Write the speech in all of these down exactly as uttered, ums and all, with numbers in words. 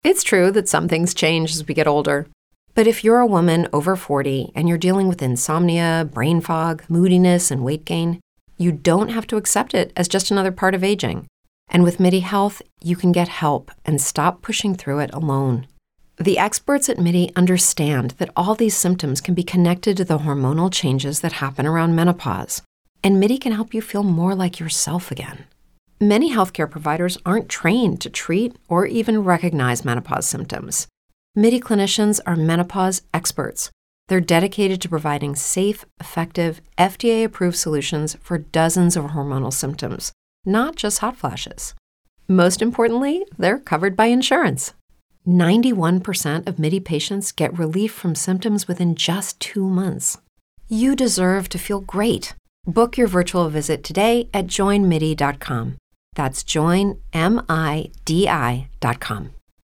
It's true that some things change as we get older. But if you're a woman over forty and you're dealing with insomnia, brain fog, moodiness, and weight gain, you don't have to accept it as just another part of aging. And with MIDI Health, you can get help and stop pushing through it alone. The experts at MIDI understand that all these symptoms can be connected to the hormonal changes that happen around menopause, and MIDI can help you feel more like yourself again. Many healthcare providers aren't trained to treat or even recognize menopause symptoms. MIDI clinicians are menopause experts. They're dedicated to providing safe, effective, F D A-approved solutions for dozens of hormonal symptoms, not just hot flashes. Most importantly, they're covered by insurance. ninety-one percent of MIDI patients get relief from symptoms within just two months. You deserve to feel great. Book your virtual visit today at join midi dot com. That's join midi dot com.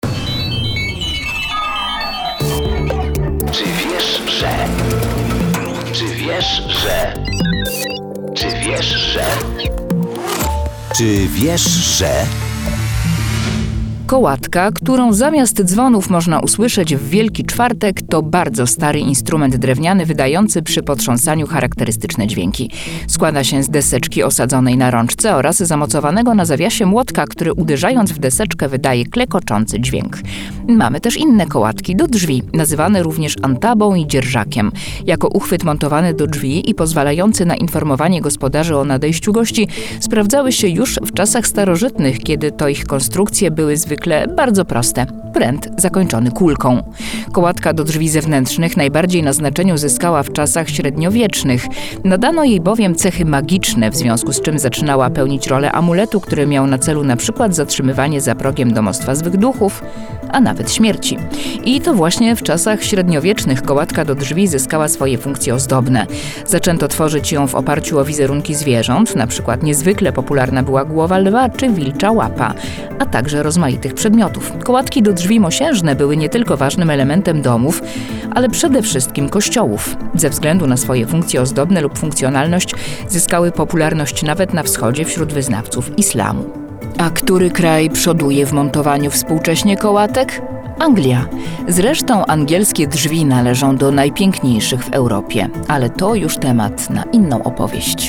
Czy wiesz, że? Czy wiesz, że? Czy wiesz, że? Czy wiesz, że? Kołatka, którą zamiast dzwonów można usłyszeć w Wielki Czwartek, to bardzo stary instrument drewniany wydający przy potrząsaniu charakterystyczne dźwięki. Składa się z deseczki osadzonej na rączce oraz zamocowanego na zawiasie młotka, który uderzając w deseczkę wydaje klekoczący dźwięk. Mamy też inne kołatki do drzwi, nazywane również antabą i dzierżakiem. Jako uchwyt montowany do drzwi i pozwalający na informowanie gospodarzy o nadejściu gości, sprawdzały się już w czasach starożytnych, kiedy to ich konstrukcje były zwykle bardzo proste. Pręt zakończony kulką. Kołatka do drzwi zewnętrznych najbardziej na znaczeniu zyskała w czasach średniowiecznych. Nadano jej bowiem cechy magiczne, w związku z czym zaczynała pełnić rolę amuletu, który miał na celu na przykład zatrzymywanie za progiem domostwa złych duchów, a nawet śmierci. I to właśnie w czasach średniowiecznych kołatka do drzwi zyskała swoje funkcje ozdobne. Zaczęto tworzyć ją w oparciu o wizerunki zwierząt, na przykład niezwykle popularna była głowa lwa czy wilcza łapa, a także rozmaitych przedmiotów. Kołatki do drzwi mosiężne były nie tylko ważnym elementem domów, ale przede wszystkim kościołów. Ze względu na swoje funkcje ozdobne lub funkcjonalność zyskały popularność nawet na wschodzie wśród wyznawców islamu. A który kraj przoduje w montowaniu współcześnie kołatek? Anglia. Zresztą angielskie drzwi należą do najpiękniejszych w Europie, ale to już temat na inną opowieść.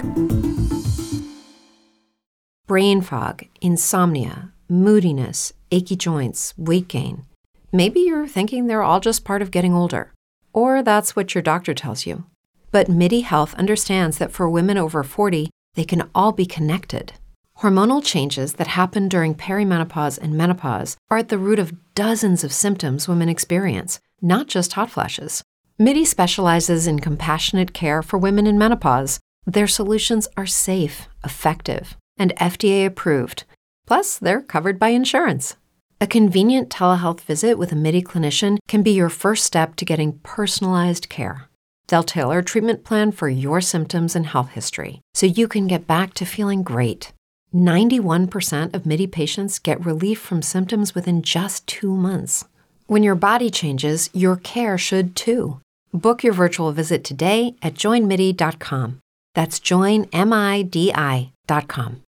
Brain fog, insomnia, moodiness, achy joints, weight gain. Maybe you're thinking they're all just part of getting older, or that's what your doctor tells you. But MIDI Health understands that for women over forty, they can all be connected. Hormonal changes that happen during perimenopause and menopause are at the root of dozens of symptoms women experience, not just hot flashes. MIDI specializes in compassionate care for women in menopause. Their solutions are safe, effective, and F D A approved. Plus, they're covered by insurance. A convenient telehealth visit with a MIDI clinician can be your first step to getting personalized care. They'll tailor a treatment plan for your symptoms and health history, so you can get back to feeling great. ninety-one percent of MIDI patients get relief from symptoms within just two months. When your body changes, your care should too. Book your virtual visit today at join midi dot com. That's join midi dot com.